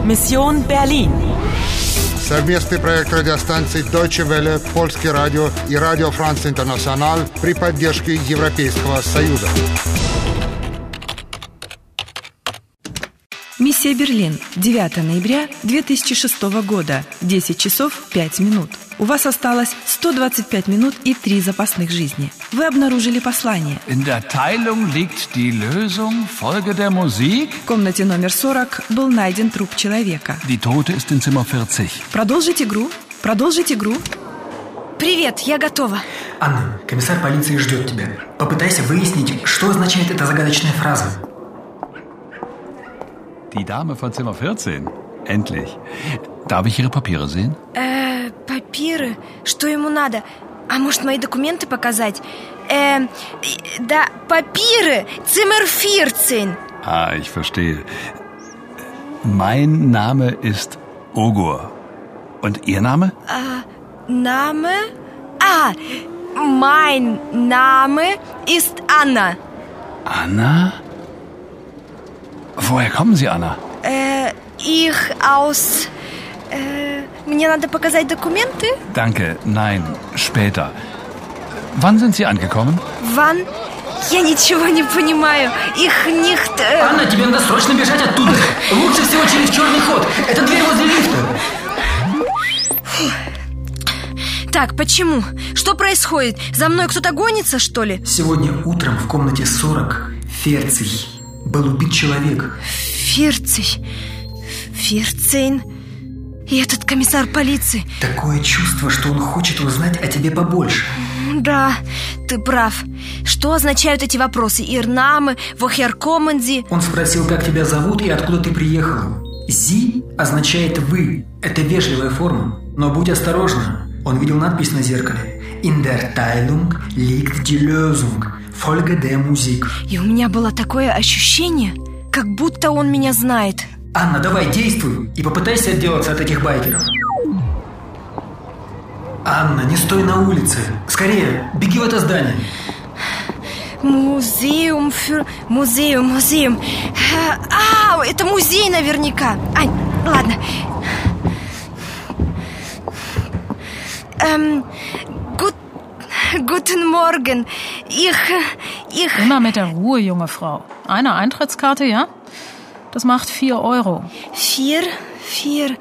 Mission Berlin. Совместный проект радиостанций Deutsche Welle, Польский радио и Радио Франц Интернациональ при поддержке Европейского Союза. Миссия Берлин. 9 ноября 2006 года. 10 часов 5 минут. У вас осталось 125 минут и 3 запасных жизни. Вы обнаружили послание. In der Teilung liegt die Lösung. Folge der Musik. В комнате номер 40 был найден труп человека. Die Tote ist in Zimmer 40. Продолжить игру. Продолжить игру. Привет, я готова. Анна, комиссар полиции ждет тебя. Попытайся выяснить, что означает эта загадочная фраза. Die Dame von Zimmer 14. Endlich. Darf ich Ihre Papiere sehen? Папиры? Что ему надо? А может, мои документы показать? Да, папиры! Zimmer 14. Ah, ich verstehe. Mein Name ist Ogur. Und Ihr Name? Name? Mein Name ist Anna. Anna? Woher kommen Sie, Anna? Ich aus... Мне надо показать документы? Danke, nein, später. Wann sind Sie angekommen? Wann? Я ничего не понимаю. Их nicht... Анна, тебе надо срочно бежать оттуда. Лучше всего через черный ход. Это дверь возле лифта. Так, почему? Что происходит? За мной кто-то гонится, что ли? Сегодня утром в комнате 40 Ферций был убит человек. 14. И этот комиссар полиции. Такое чувство, что он хочет узнать о тебе побольше. Да, ты прав. Что означают эти вопросы? Ihr Name, woher kommen Sie? Он спросил, как тебя зовут и откуда ты приехала. «Sie» означает «вы». Это вежливая форма. Но будь осторожна. Он видел надпись на зеркале. In der Teilung liegt die Lösung. Folge der Musik. И у меня было такое ощущение, как будто он меня знает. Анна, давай, действуй и попытайся отделаться от этих байкеров. Анна, не стой на улице. Скорее, беги в это здание. Музеум. Это музей наверняка. Ань, ладно. Guten Morgen. Ich... Immer mit der Ruhe, junge Frau. Eine Eintrittskarte, ja? Das macht 4 Euro. 4? 4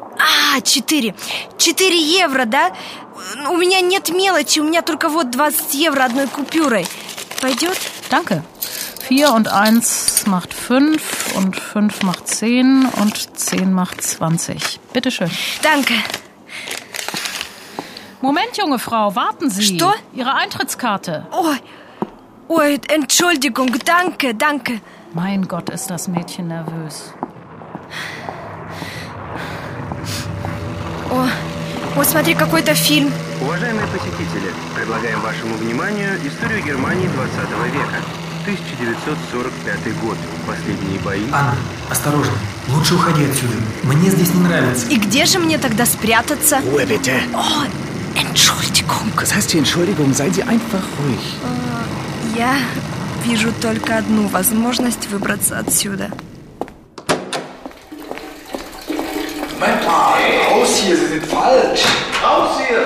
евро, да? У меня нет мелочи, у меня только вот 20 евро одной купюрой. Пойдет? Danke. 4 und 1 macht 5 und 5 macht 10 und 10 macht 20. Bitteschön. Danke. Moment, junge Frau, warten Sie. Что? Ihre Eintrittskarte. Ой, Entschuldigung, danke. Mein Gott, ist das Mädchen nervös. О, смотри, какой-то фильм. Уважаемые посетители, предлагаем вашему вниманию историю Германии 20 века. 1945 год. Последние бои. Анна, осторожно. Лучше уходи отсюда. Мне здесь не нравится. И где же мне тогда спрятаться? Ruhe bitte. Entschuldigung. Was heißt hier Entschuldigung? Seien Sie einfach ruhig. Я вижу только одну возможность выбраться отсюда. Moment mal, raus hier, Sie sind falsch. Raus hier!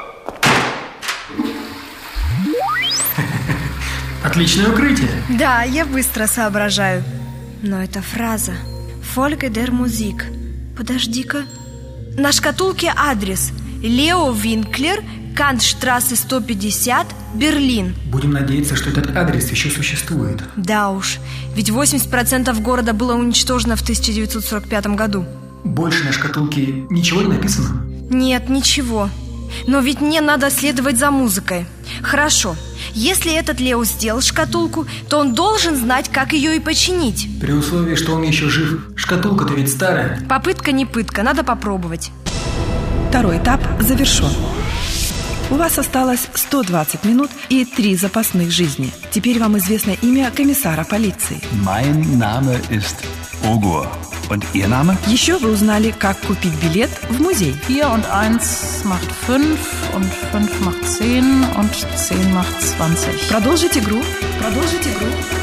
Отличное укрытие. Да, я быстро соображаю. Но эта фраза Folge der Musik. Подожди-ка. На шкатулке адрес Лео Винклер, Кантштрассе 150, Берлин. Будем надеяться, что этот адрес еще существует. Да уж, ведь 80% города было уничтожено в 1945 году. Больше на шкатулке ничего не написано? Нет, ничего. Но ведь мне надо следовать за музыкой. Хорошо, если этот Лео сделал шкатулку, то он должен знать, как ее и починить. При условии, что он еще жив. Шкатулка-то ведь старая. Попытка не пытка, надо попробовать. Второй этап завершен. У вас осталось 120 минут и 3 запасных жизни. Теперь вам известно имя комиссара полиции. Mein Name ist Ogur. Und Ihr Name? Еще вы узнали, как купить билет в музей. 4 und 1 macht 5 und 5 macht 10 und 10 macht 20. Продолжить игру.